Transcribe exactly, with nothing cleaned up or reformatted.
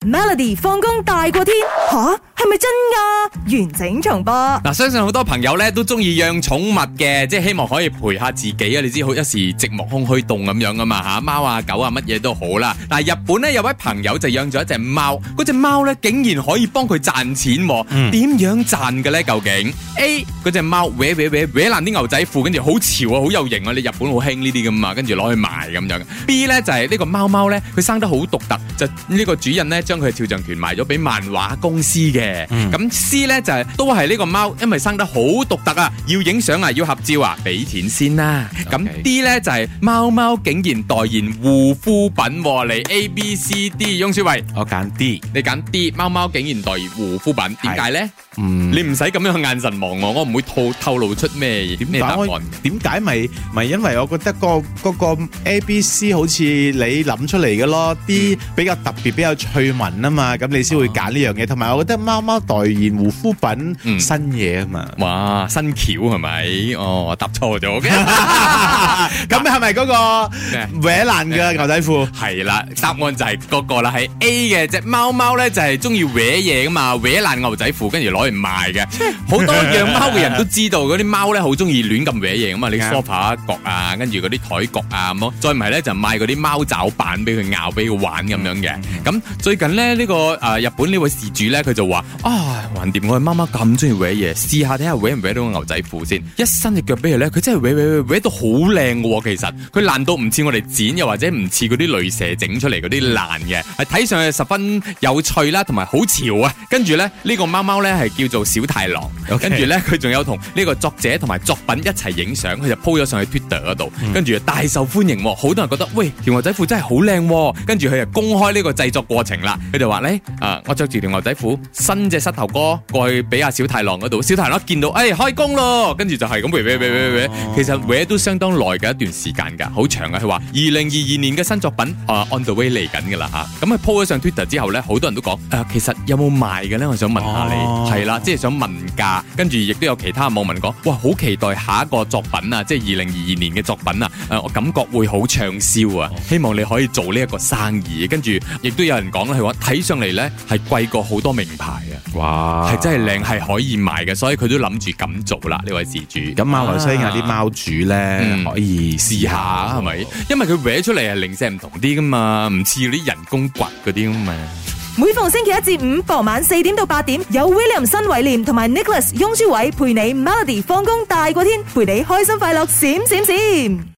Melody 放工大過天吓，係咪真㗎？完整重播嗱，相信好多朋友咧都中意養寵物嘅，即係希望可以陪下自己啊！你知好一時寂寞空虛凍咁樣噶嘛吓，貓啊狗啊乜嘢都好啦。但係日本咧有位朋友就養咗一隻貓，嗰隻貓咧竟然可以幫佢賺錢，點、嗯、樣賺嘅咧？究竟 A 嗰隻貓搲搲搲搲爛啲牛仔褲，跟住好潮啊，好有型啊！你日本好興呢啲噶嘛，跟住攞去賣咁樣。B 咧就係、是、呢個貓貓咧，佢生得好獨特，就呢個主人咧將佢嘅肖像權賣咗俾漫畫公司嘅。咁、嗯、C 咧就係、是、都係呢個貓，因為生得好獨特啊，要影相啊，要合照啊，俾錢先啦。咁、okay. D 咧就係、是、貓貓竟然代言護膚品嚟 A B C D， 翁舒慧， 我揀 D， 你揀 D， 貓貓竟然代言護膚品，點解咧？嗯，你唔使咁樣眼神望我，我唔會透透露出咩咩答案。 點解咪咪因為我覺得、嗰個嗰、嗰個 A B C 好似你諗出嚟嘅咯，啲、嗯、比較特別比較趣聞啊嘛，咁你先會揀呢樣嘢。同、哦、埋我覺得貓貓代言護膚品、嗯、新嘢啊嘛， 哇新橋係咪？哦，我答錯咗嘅。 咁係咪嗰個搲爛嘅牛仔褲？ 係啦，答案就係嗰個啦，係 A 嘅。隻貓貓咧就係中意搲嘢噶嘛，搲爛牛仔褲跟住攞嚟賣嘅。好多養貓嘅人都知道嗰啲貓咧好中意亂咁搲嘢噶嘛，你 sofa 角啊，跟住嗰啲台角啊咁咯。再唔係咧就買嗰啲貓爪板俾佢咬，俾佢玩咁樣嘅。咁、嗯、最近咧呢、這個誒、呃、日本呢位事主咧佢就話啊，橫掂我嘅貓貓咁中意搲嘢，試下睇下搲唔搲到個牛仔褲先。一伸隻腳俾佢咧，佢真係搲搲搲搲到好靚嘅喎。其實佢爛到唔似我哋剪，又或者唔似嗰啲鐳射整出嚟嗰啲爛嘅，係睇上去十分有趣啦，同埋好潮啊。跟住咧呢、這個貓貓咧係叫做小太郎，跟住咧佢仲有同呢個作者同埋作品一齊影相，佢就 po 咗上去 Twitter 嗰度，跟、嗯、住大受歡迎，好多人覺得喂條牛仔褲真係好靚，跟住佢就公開呢個製作過程啦。佢就話咧啊，我着住條牛仔褲，伸隻膝頭哥過去俾阿小太郎嗰度，小太郎一見到，哎開工咯，跟住就係咁搲搲搲搲搲，其實搲都相當耐嘅一段時間噶，好長啊。佢話二零二二年嘅新作品啊 on the way 嚟緊噶啦吓，咁佢 po 咗上 Twitter 之後咧，好多人都講誒，其實有冇賣嘅咧？我想問下你，係、哦、啦，即係想問價，跟住亦都有其他網民講，哇，好期待下一個作品啊，即係二零二二年嘅作品啊，誒，我感覺會好暢銷啊，希望你可以做呢一個生意。跟住亦都有人講咧，佢話睇上嚟咧係貴過好多名牌啊，哇，係真係靚，係可以賣嘅，所以佢都諗住咁做啦。呢位事主， 咁馬來西亞啲貓主咧、嗯、可以試下係咪？ 因為佢搲出嚟係零舍唔同啲噶嘛，唔似啲人工掘嗰啲咁嘛。 每逢星期一至五傍晚四點到八點，有 William 新偉廉同埋 Nicholas 雍舒偉陪你 Melody 放工大過天，陪你開心快樂閃閃閃。